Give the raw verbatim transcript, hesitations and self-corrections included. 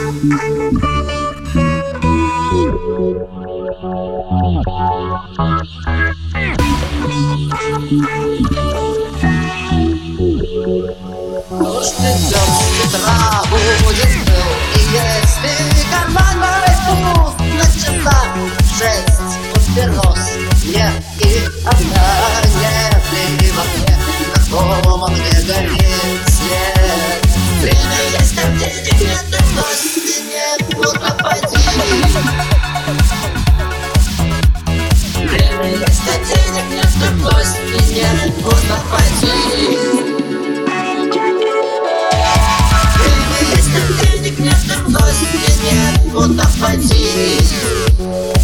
Дождь идет, с утра будет пыл. И если карман мой пуст, на часах шесть подберос мне и одна не в окне, на ком он не горит свет. Время есть, а денег нет, и бросить нет, куда пойти. Время есть, а денег нет, и бросить нет, куда пойти. Денег нет, и бросить нет, куда пойти.